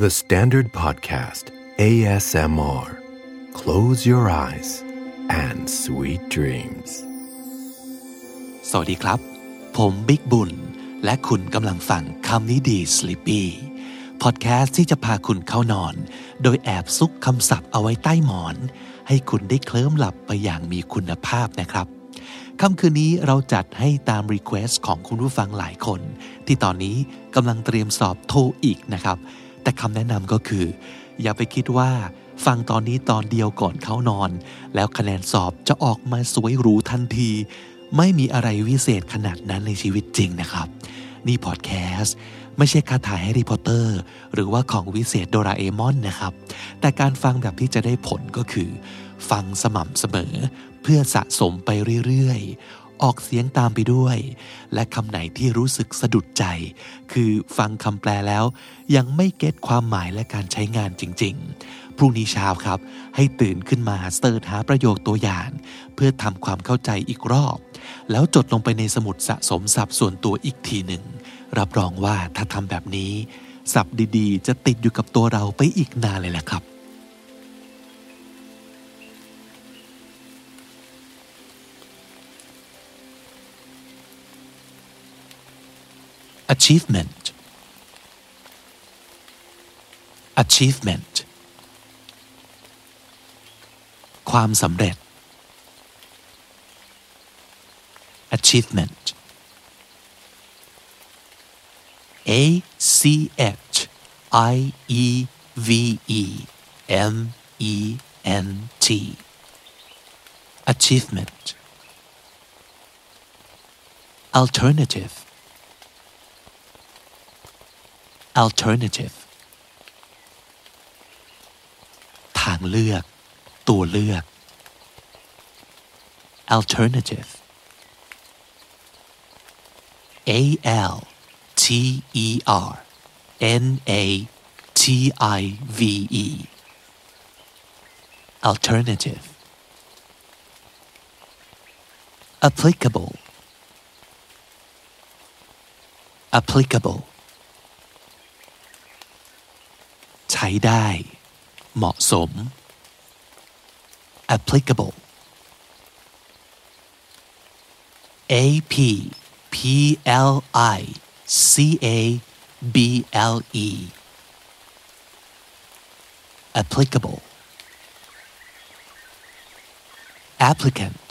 The Standard Podcast ASMR Close your eyes and sweet dreams สวัสดีครับผมบิ๊กบุญและคุณกำลังฟังคำนี้ดี Sleepy พอดแคสต์ที่จะพาคุณเข้านอนโดยแอบซุกคำศัพท์เอาไว้ใต้หมอนให้คุณได้เคลิ้มหลับไปอย่างมีคุณภาพนะครับค่ำคืนนี้เราจัดให้ตามรีเควสต์ของคุณผู้ฟังหลายคนที่ตอนนี้กำลังเตรียมสอบโทอีกนะครับแต่คำแนะนำก็คืออย่าไปคิดว่าฟังตอนนี้ตอนเดียวก่อนเข้านอนแล้วคะแนนสอบจะออกมาสวยหรูทันทีไม่มีอะไรวิเศษขนาดนั้นในชีวิตจริงนะครับนี่พอดแคสต์ไม่ใช่คาถาแฮร์รี่พอตเตอร์หรือว่าของวิเศษโดราเอมอนนะครับแต่การฟังแบบที่จะได้ผลก็คือฟังสม่ำเสมอเพื่อสะสมไปเรื่อยๆออกเสียงตามไปด้วยและคำไหนที่รู้สึกสะดุดใจคือฟังคำแปลแล้วยังไม่เก็ตความหมายและการใช้งานจริงๆพรุ่งนี้เช้าครับให้ตื่นขึ้นมาเสิร์ชหาประโยคตัวอย่างเพื่อทำความเข้าใจอีกรอบแล้วจดลงไปในสมุดสะสมศัพท์ส่วนตัวอีกทีหนึ่งรับรองว่าถ้าทำแบบนี้ศัพท์ดีๆจะติดอยู่กับตัวเราไปอีกนานเลยแหละครับachievement achievement ความสำเร็จ achievement A C H I E V E M E N T achievement alternative alternative ทางเลือกตัวเลือก alternative A L T E R N A T I V E alternative applicable applicableใช้ได้เหมาะสม applicable A P P L I C A B L E applicable applicant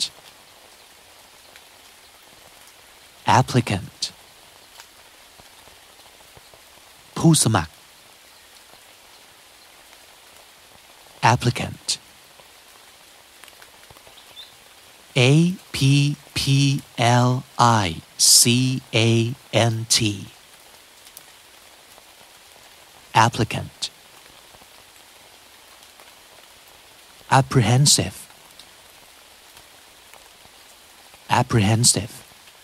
applicant ผู้สมัครapplicant A P P L I C A N T applicant apprehensive apprehensive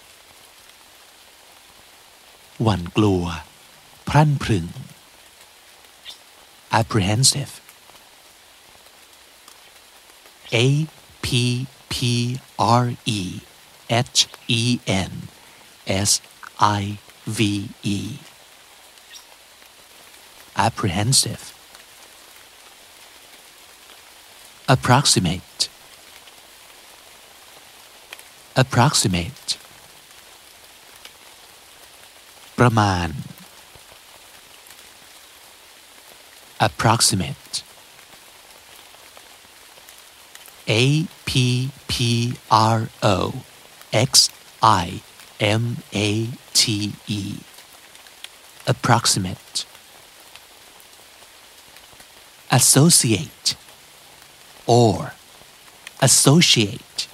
หวั่นกลัวพรั่นพรึง apprehensive A P P R E H E N S I V E apprehensive approximate approximate ประมาณ approximate A P P R O X I M A T E approximate associate or associate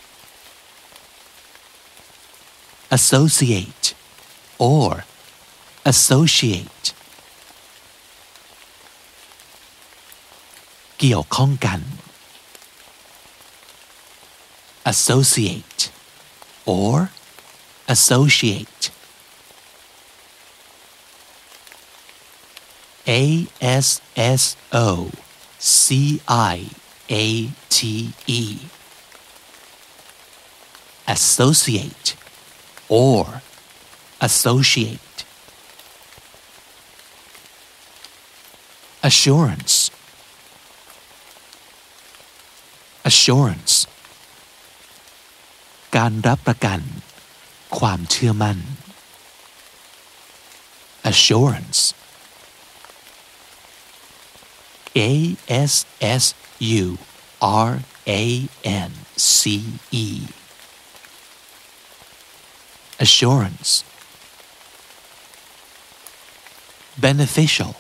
associate or associate เกี่ยวข้องกัน associate or associate A S S O C I A T E associate or associate assurance assurance การรับประกันความเชื่อมั่น assurance ASSURANCE assurance beneficial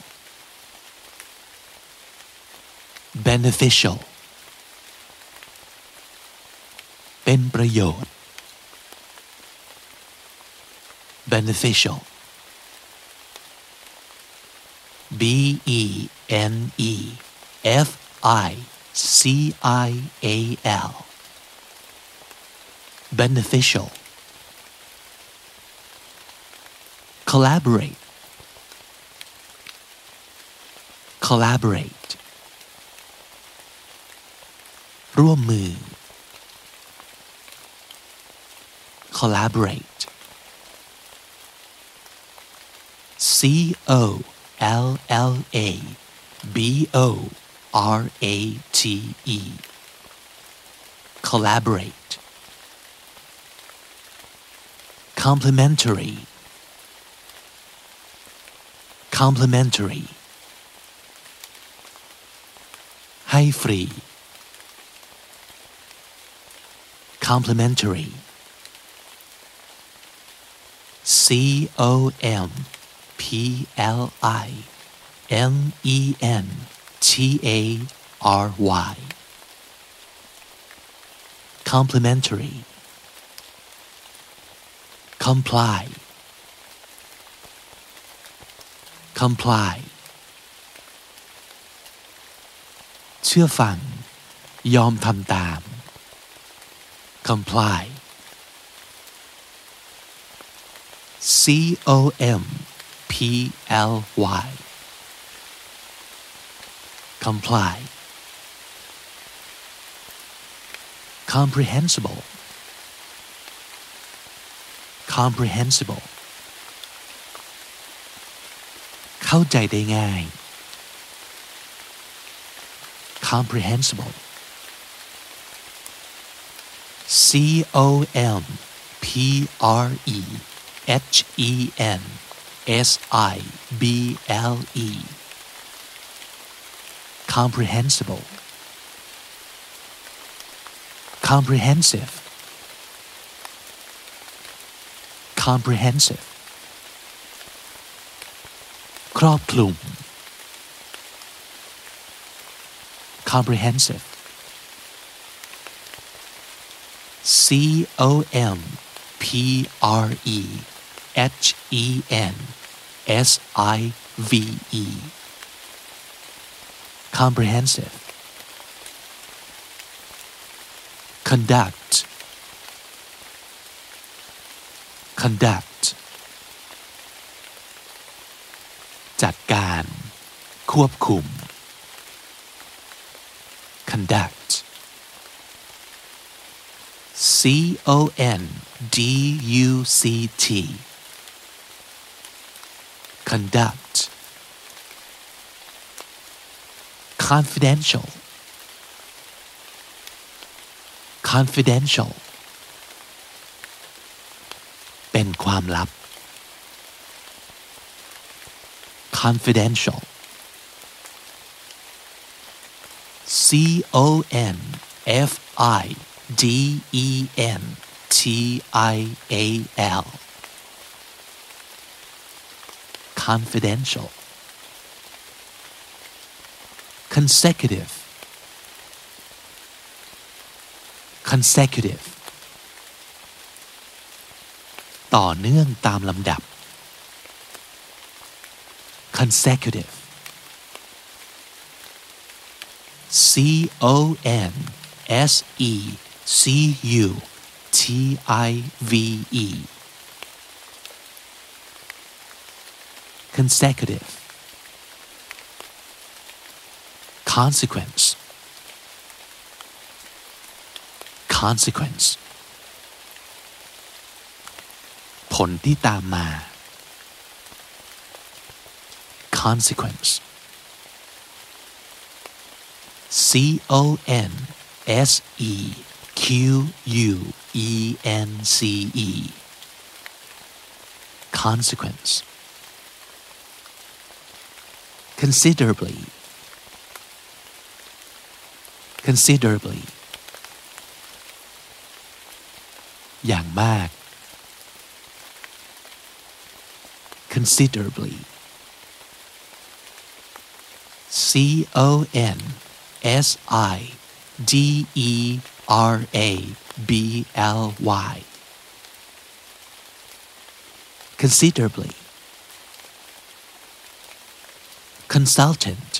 beneficial เป็นประโยชน์ beneficial BENEFICIAL beneficial collaborate collaborate ร่วมมือ collaborate COLLABORATE collaborate complementary complementary ให้ฟรี complementary COMPLIMENTARY complementary comply comply เชื่อฟังยอมทำตาม comply COMPLY comply comprehensible comprehensible เข้าใจได้ง่าย comprehensible COMPREHENSIBLE comprehensible comprehensive comprehensive ครอบคลุม comprehensive COMPREHENSIVE comprehensive conduct conduct จัดการควบคุม conduct CONDUCT conduct confidential confidential เป็นความลับ confidential CONFIDENTIAL confidential consecutive consecutive ต่อเนื่องตามลำดับ consecutive CONSECUTIVE consecutive consequence consequence ผลที่ตามมา consequence consequence consequence considerably considerably อย่างมาก considerably considerably considerably consultant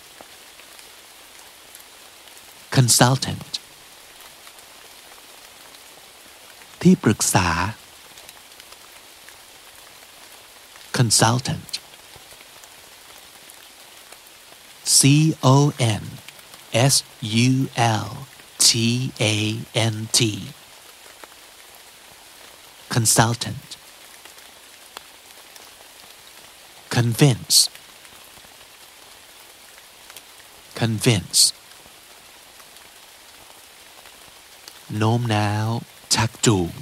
consultant ที่ปรึกษา consultant consultant consultant convince convince โน้มน้าวชักจูง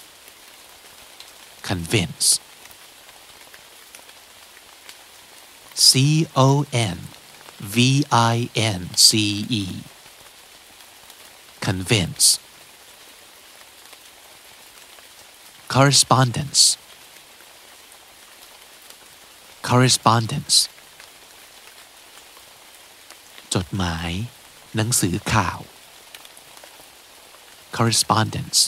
convince convince convince correspondence correspondence จดหมายหนังสือข่าว correspondence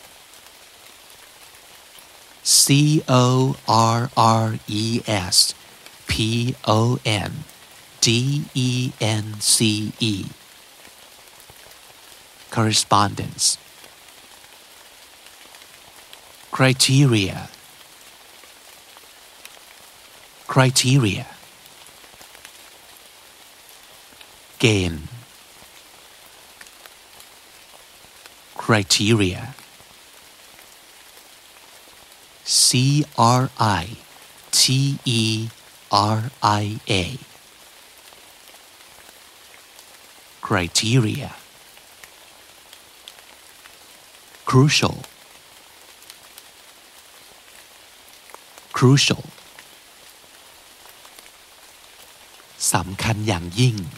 correspondence correspondence criteria criteria เกณฑ์ criteria criteria criteria crucial crucial สำคัญอย่างยิ่ง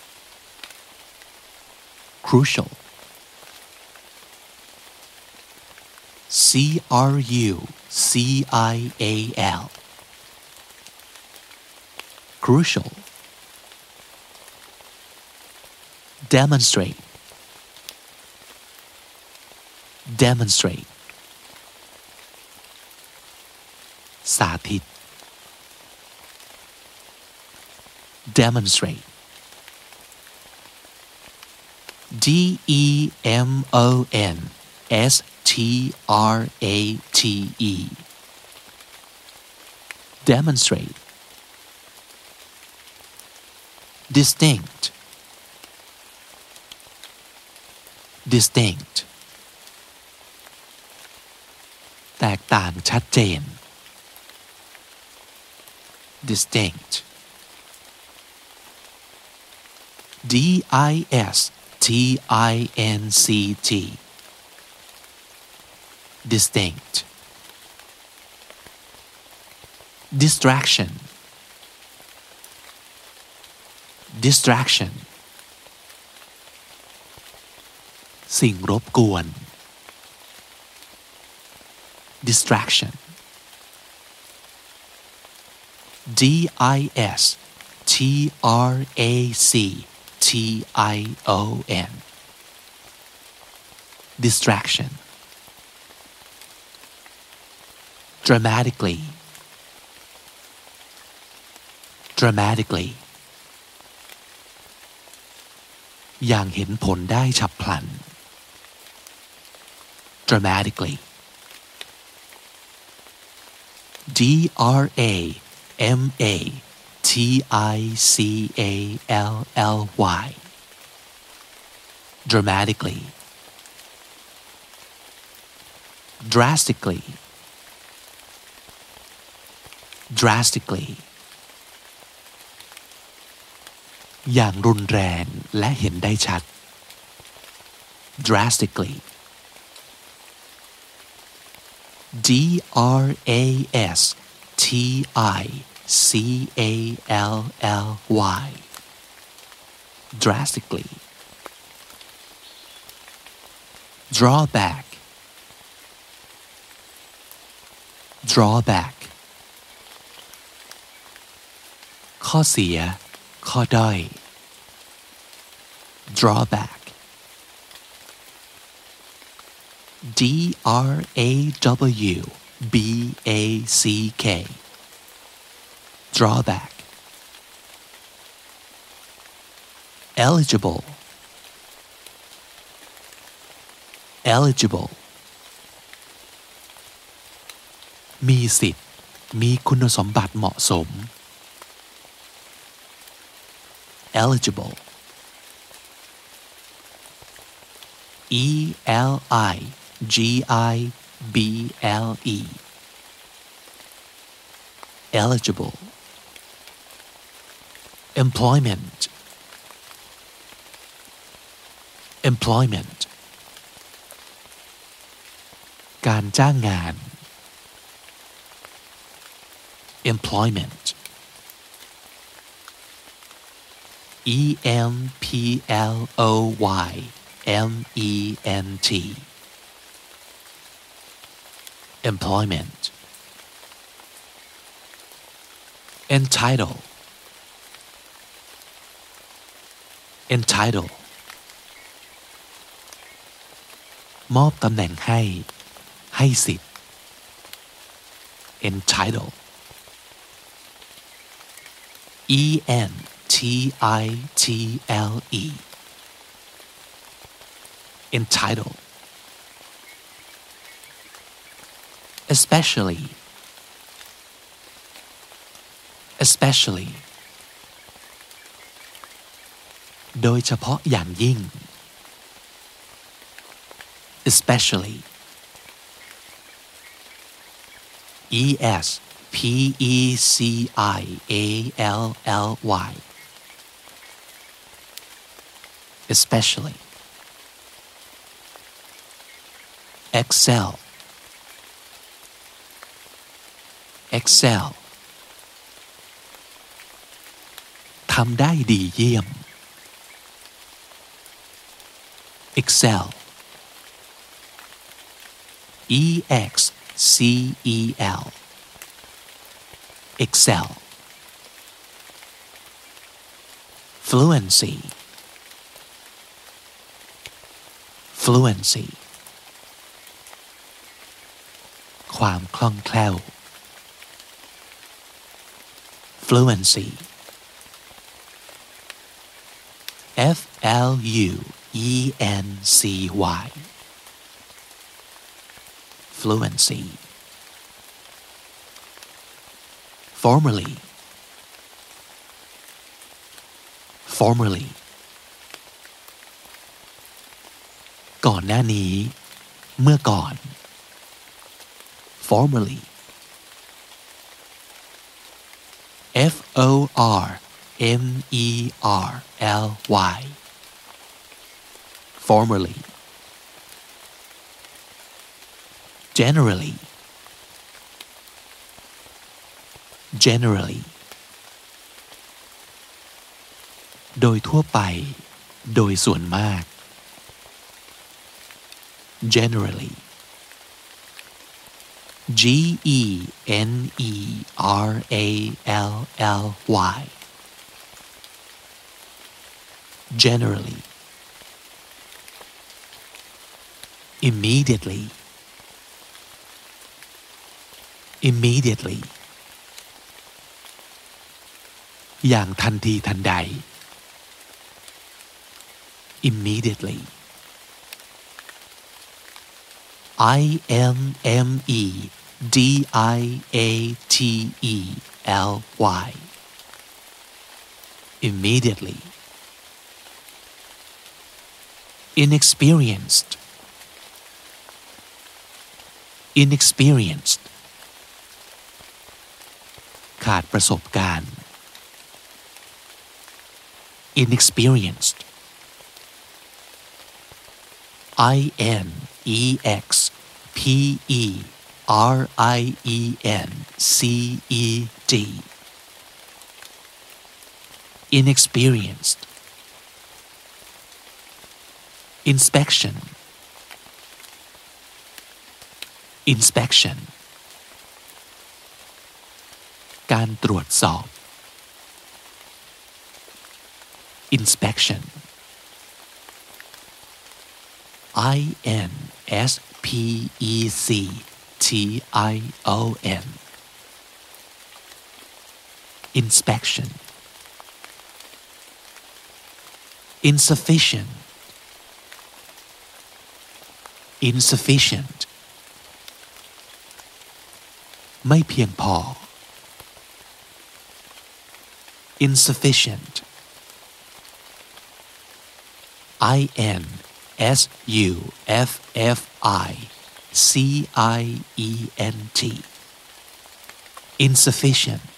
crucial crucial crucial demonstrate demonstrate สาธิต demonstrate demonstrate demonstrate distinct distinct แตกต่างชัดเจน distinct distinct distinct distraction distraction สิ่งรบกวน distraction distraction distraction dramatically dramatically อย่างเห็นผลได้ฉับพลัน dramatically dramatically dramatically drastically drastically อย่างรุนแรงและเห็นได้ชัด drastically drastically drastically drawback drawback ข้อเสียข้อด้อย drawback drawback drawback eligible eligible มีสิทธิ์มีคุณสมบัติเหมาะสม eligible eligible eligible employment employment การจ้างงาน employment employment employment entitle entitle มอบตำแหน่งให้สิทธิ์ entitle entitle entitle especially especially โดยเฉพาะอย่างยิ่ง especially especially especially excel excel ทำได้ดีเยี่ยม excel excel excel fluency fluency ความคล่องแคล่ว fluency fluency fluency formerly formerly ก่อนหน้านี้เมื่อก่อน formerly formerly formerly generally generally โดยทั่วไปโดยส่วนมาก generally generally generally immediately immediately อย่างทันทีทันใด immediately immediately immediately inexperienced inexperienced ขาดประสบการณ์ inexperienced inexperienced inexperienced inspection inspection การตรวจสอบ inspection inspectation inspection insufficient insufficient ไม่เพียงพอ insufficient insufficient insufficient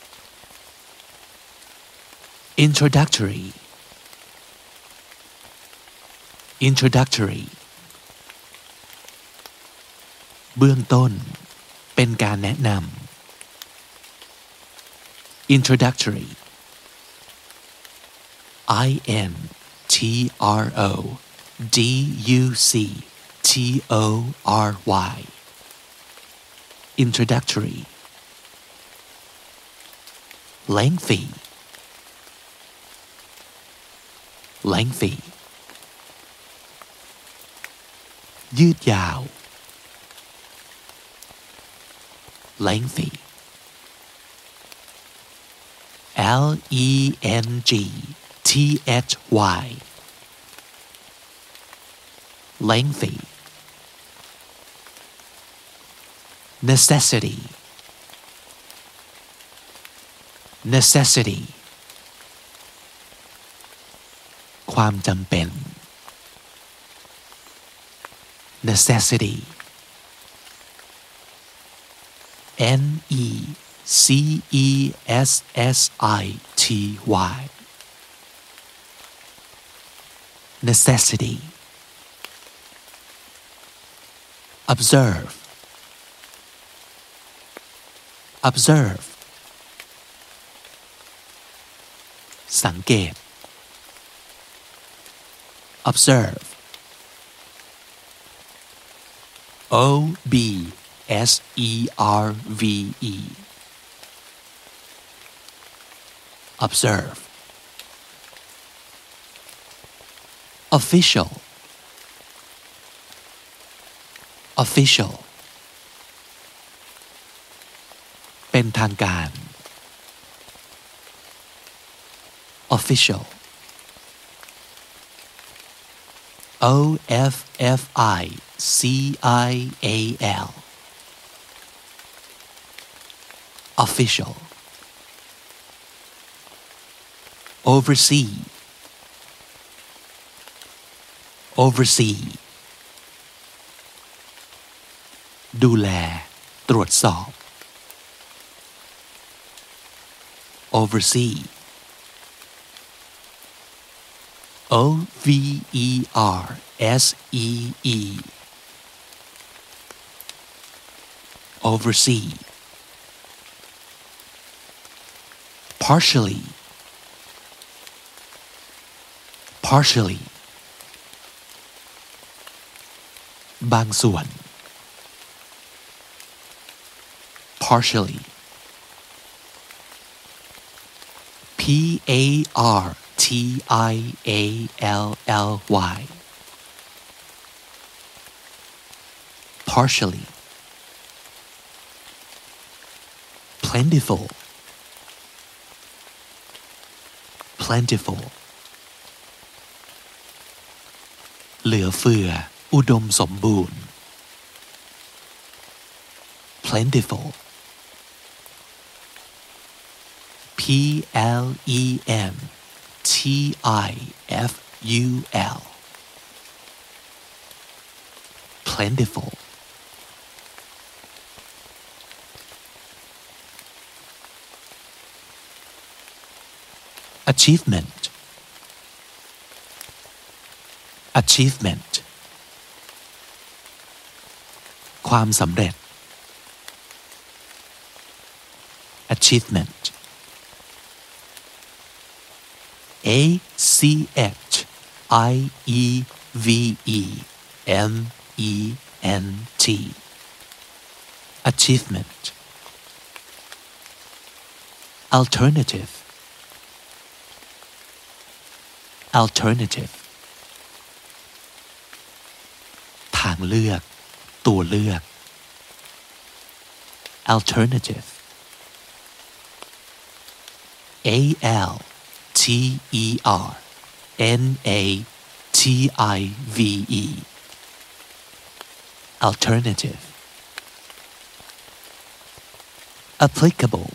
introductory introductory เบื้องต้นเป็นการแนะนำ introductory introductory introductory lengthy lengthy ยืดยาว lengthy lengthy lengthy necessity necessity ความจำเป็น necessity necessity necessity observe observe สังเกต observe observe observe official official เป็นทางการ official official official oversee oversee ดูแลตรวจสอบ oversee oversee oversee partially partially บางส่วน partially partially partially plentiful plentiful เหลือเฟืออุดมสมบูรณ์ plentiful plentiful plentiful achievement achievement ความสำเร็จ achievement A C H I E V E M E N T achievement alternative alternative ทางเลือกตัวเลือก alternative A L T E R N A T I V E alternative applicable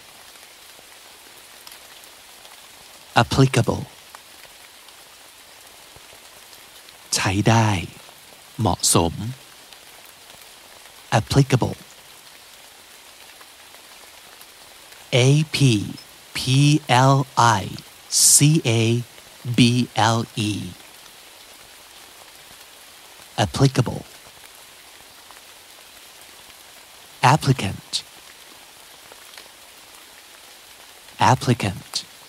applicable ใช้ได้เหมาะสม applicable A P P L I C A B L E applicable applicant applicant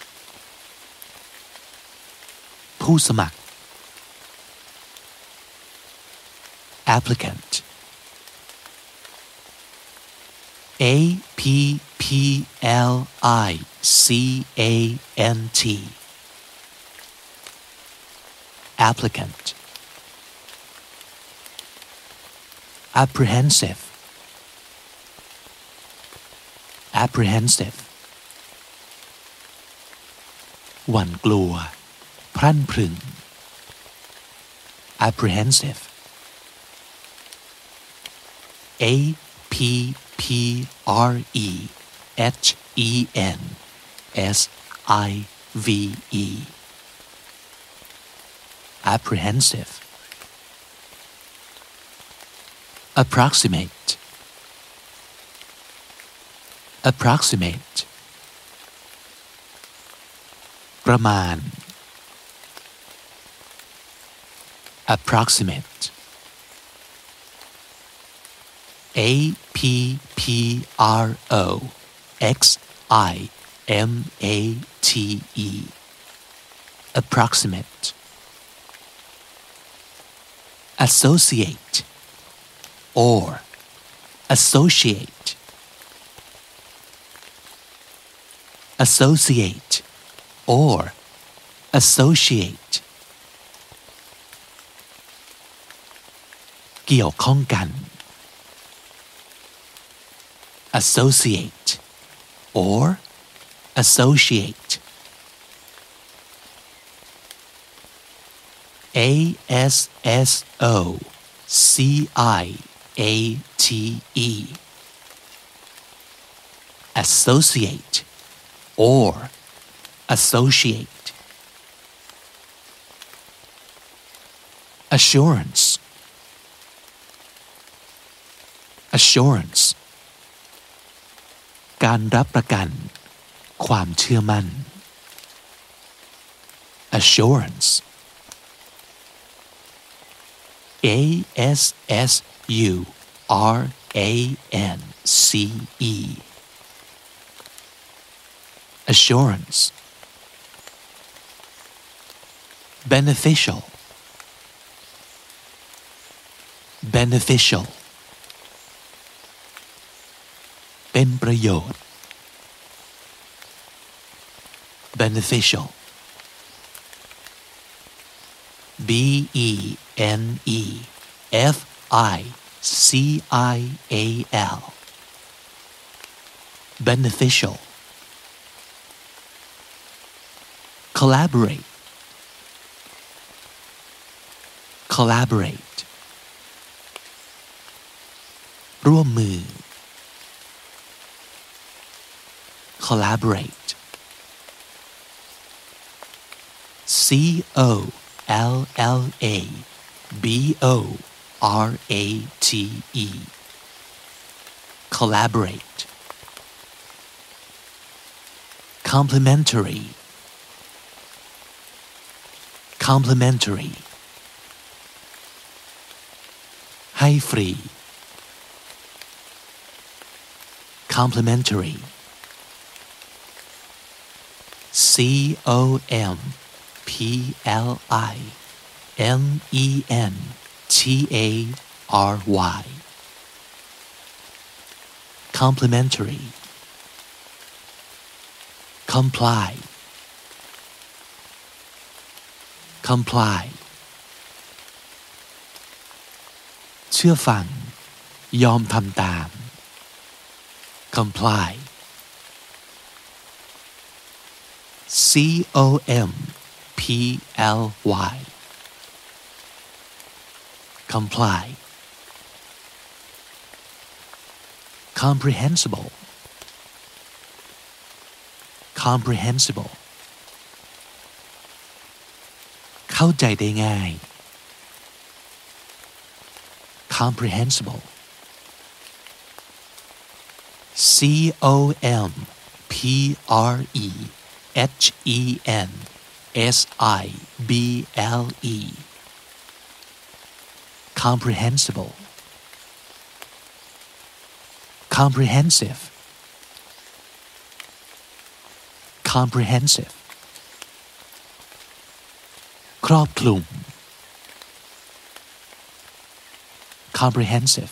ผู้สมัคร applicant A P P L I C A N T applicant apprehensive apprehensive หวั่นกลัวพรั่นพรึง apprehensive A P P R E H E N S I V E apprehensive approximate approximate ประมาณ approximate A P P R O X I M A T E approximate associate or associate associate or associate เกี่ยวข้องกัน associate or associate A S S O C I A T E associate or associate assurance assurance การรับประกันความเชื่อมั่น assurance A S S U R A N C E assurance beneficial beneficial เป็นประโยชน์ beneficial B E N E F I C I A L beneficial collaborate collaborate ร่วมมือ collaborate C O L L A B O R A T E collaborate complementary complementary ให้ฟรี complimentary complimentary complimentary comply comply เชื่อฟังยอมทำตาม comply comply comply comprehensible comprehensible เข้าใจได้ง่าย comprehensible comprehensible comprehensible comprehensive comprehensive ครอบคลุม comprehensive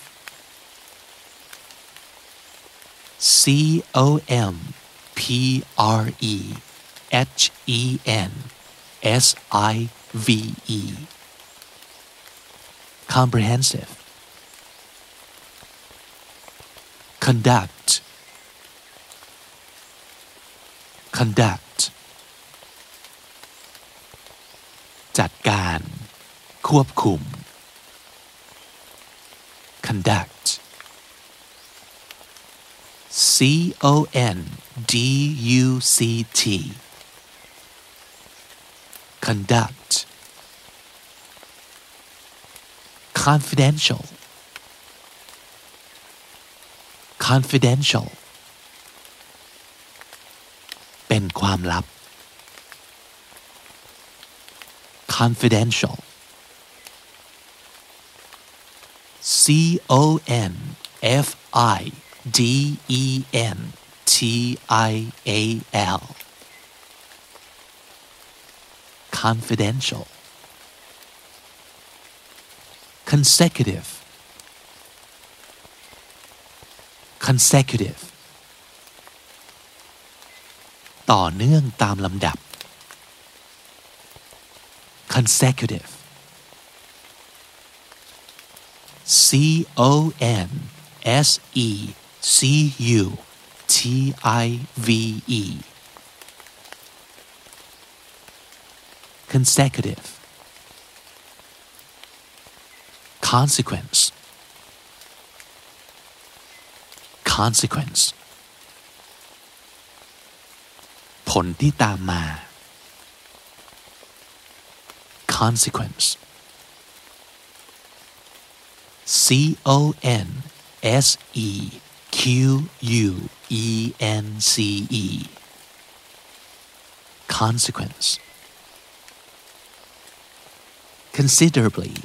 comprehensive comprehensive conduct conduct จัดการควบคุม conduct conduct confidential confidential เป็นความลับ confidential confidential confidential consecutive consecutive ต่อเนื่องตามลำดับ consecutive consecutive consecutive consequence consequence ผลที่ตามมา consequence consequence consequence considerably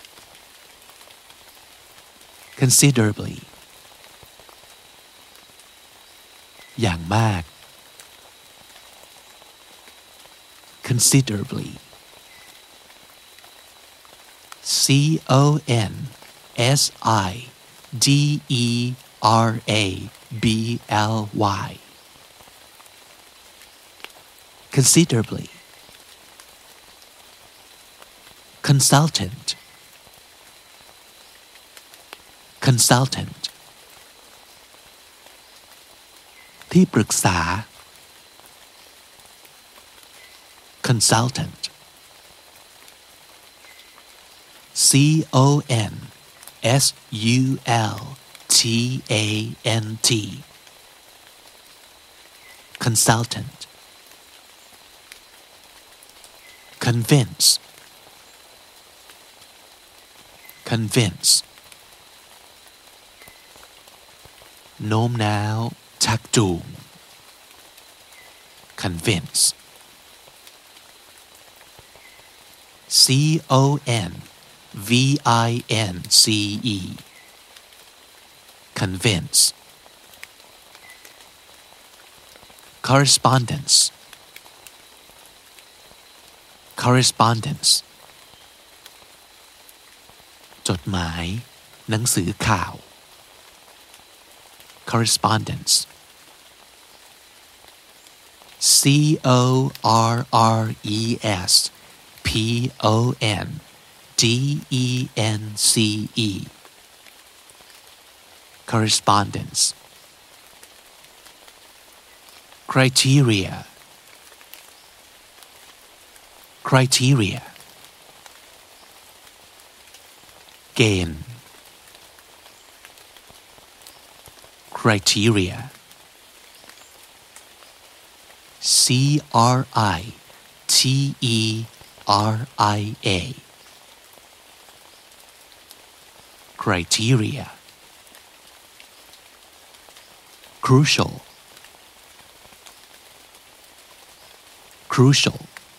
considerably อย่างมาก considerably considerably considerably consultant consultant ที่ปรึกษา consultant consultant consultant convince convince โน้มน้าวชักจูง convince convince V-I-N-C-E convince correspondence correspondence จดหมายหนังสือข่าว correspondence C-O-R-R-E-S P-O-N-D-E-N-C-E correspondence criteria criteria เกณฑ์ criteria C-R-I-T-E-R-I-A criteria crucial crucial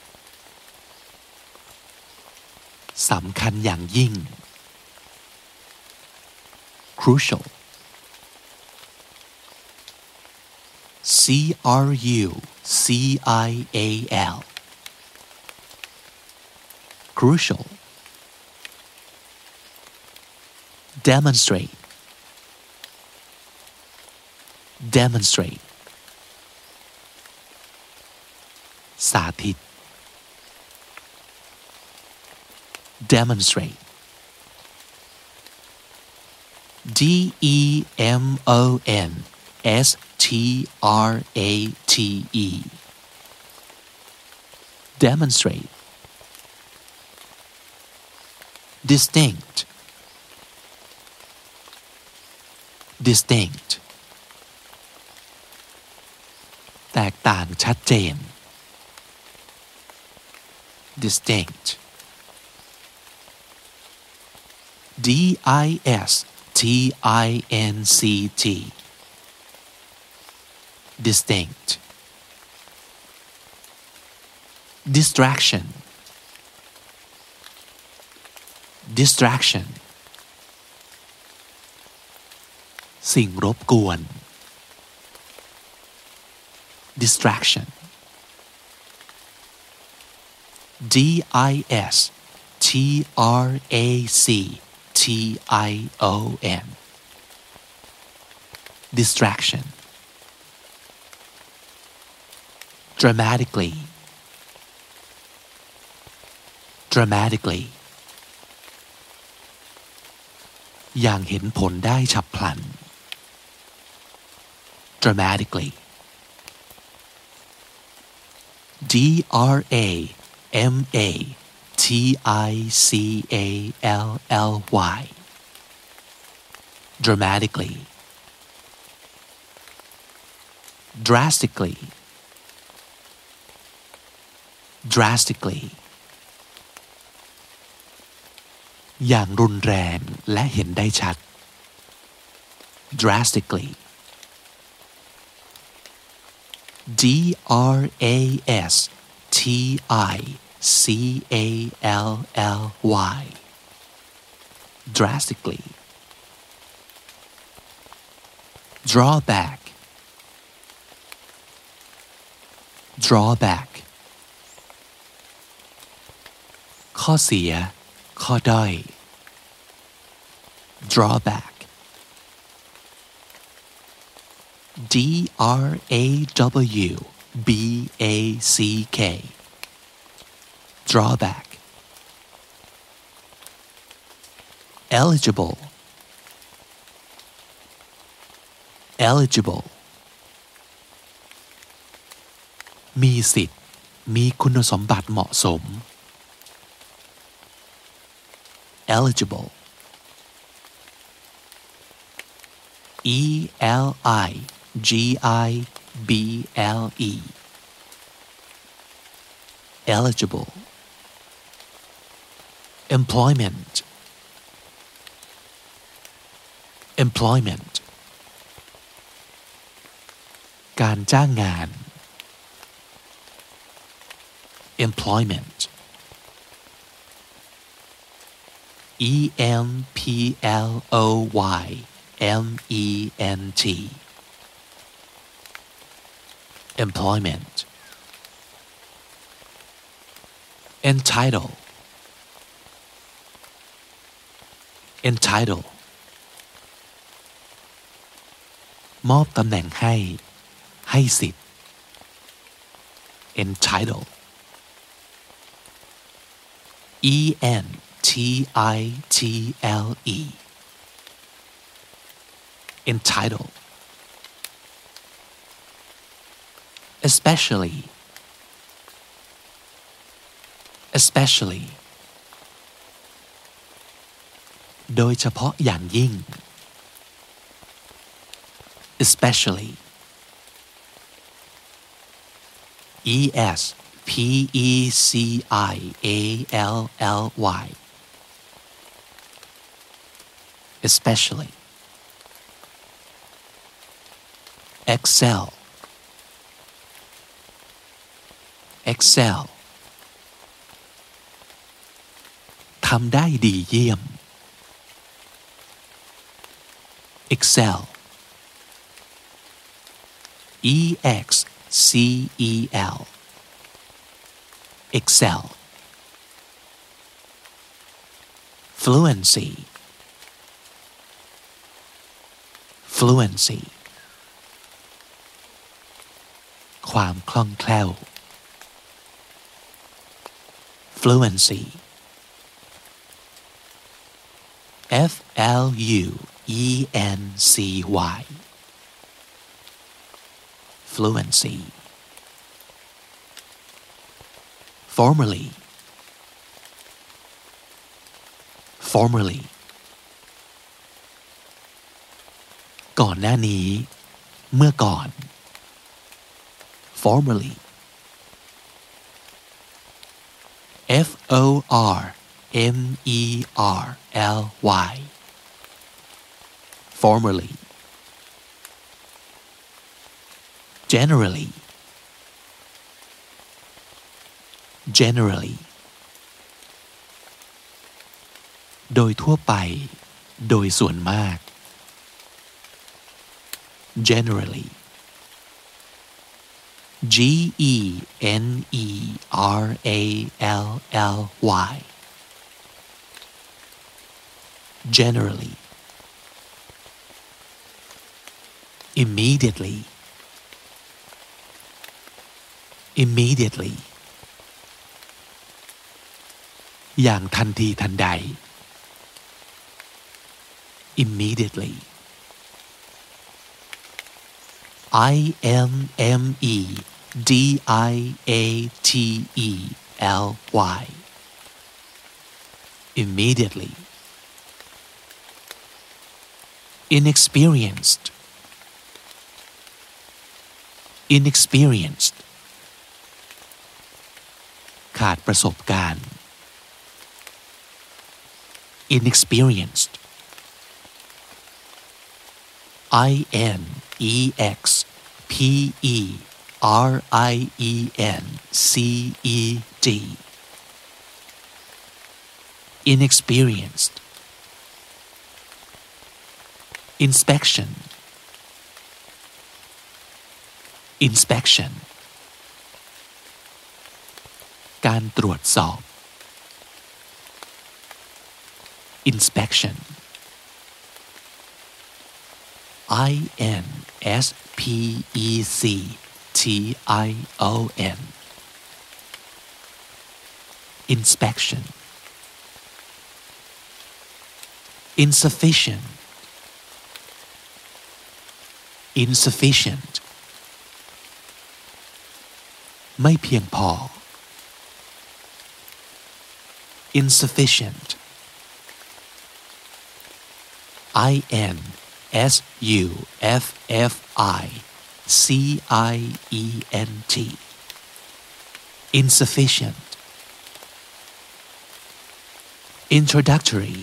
สำคัญอย่างยิ่ง crucial C-R-U-C-I-A-L crucial demonstrate demonstrate สาธิต demonstrate D-E-M-O-N-S-T-R-A-T-E demonstrate distinct distinct แตกต่างชัดเจน distinct D-I-S-T-I-N-C-T distinct distraction distraction สิ่งรบกวน distraction D-I-S-T-R-A-C-T-I-O-N distraction dramatically dramatically อย่างเห็นผลได้ฉับพลัน dramatically D-R-A-M-A-T-I-C-A-L-L-Y dramatically drastically drastically อย่างรุนแรงและเห็นได้ชัด drastically D-R-A-S-T-I-C-A-L-L-Y drastically drawback drawback ข้อเสียข้อด้อย drawback D-R-A-W-B-A-C-K drawback eligible eligible มีสิทธิ์มีคุณสมบัติเหมาะสม eligible E-L-I-G-I-B-L-E eligible employment employment การจ้างงาน employment employment employment entitle entitle มอบตำแหน่งให้สิทธิ์ entitle entitle entitle especiallyโดยเฉพาะอย่างยิ่ง especially especially excel ทำได้ดีเยี่ยม excel excel fluencyความคล่องแคล่ว fluency fluency formerlyก่อนหน้านี้เมื่อก่อน formerly formerly generallyโดยทั่วไปโดยส่วนมาก generally generally immediatelyอย่างทันทีทันใด immediately immediately inexperiencedขาดประสบการณ์ inexperienced inexperienced inspectionการตรวจสอบ inspection inspection insufficient ไม่เพียงพอ insufficient insufficient introductory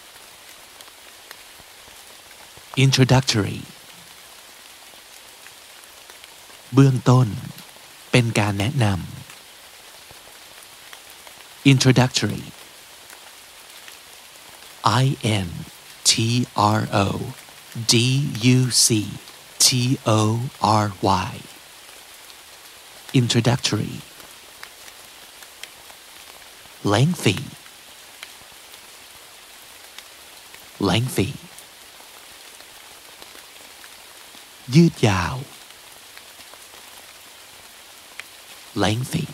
เบื้องต้นเป็นการแนะนำ introductory introductory introductory lengthy lengthy ยืดยาว lengthy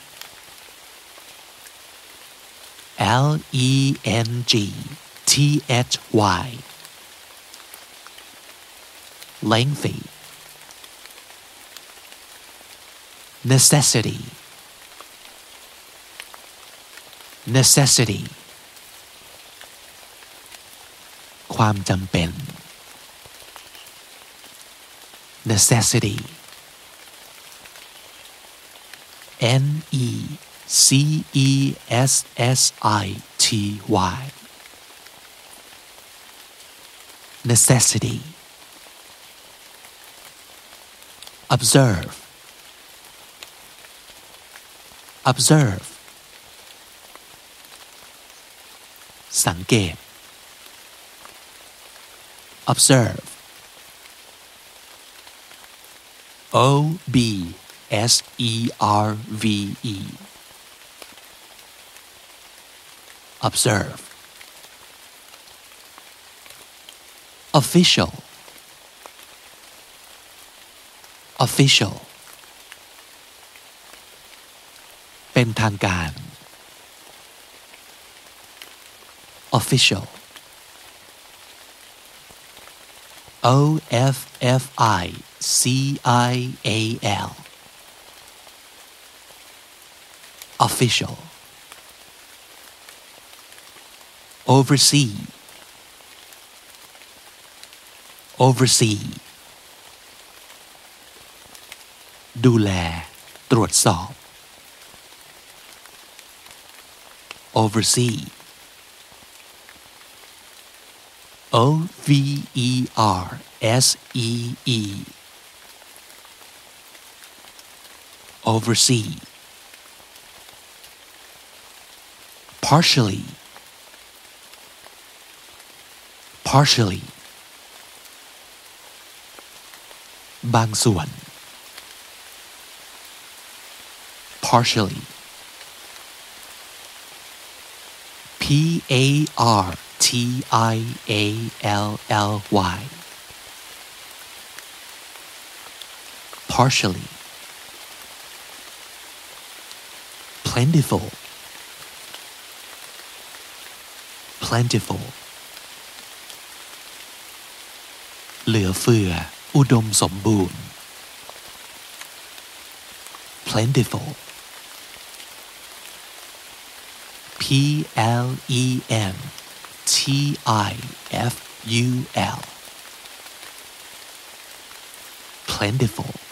lengthy lengthy necessity necessity ความจำเป็น necessity necessity necessity observe observe สังเกต observe observe observe official official เป็นทางการ official official official oversee oversee ดูแลตรวจสอบ oversee oversee oversee partially partially บางส่วน partially partially partially plentiful plentiful เหลือเฟืออุดมสมบูรณ์ plentiful plentiful plentiful